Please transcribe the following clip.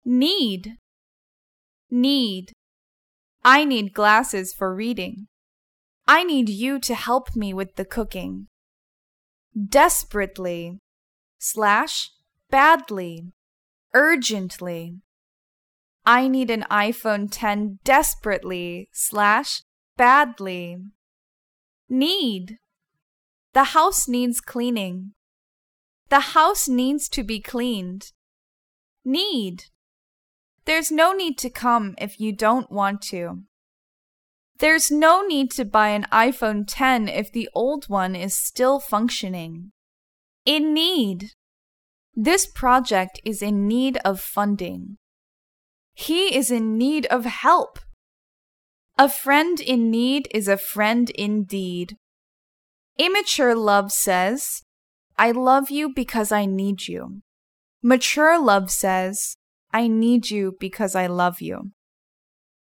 Need. Need. I need glasses for reading. I need you to help me with the cooking. Desperately / badly, urgently. I need an iPhone 10 desperately / badly. Need. The house needs cleaning. The house needs to be cleaned. Need. There's no need to come if you don't want to. There's no need to buy an iPhone 10 if the old one is still functioning. In need. This project is in need of funding. He is in need of help. A friend in need is a friend indeed. Immature love says, I love you because I need you. Mature love says, I need you because I love you.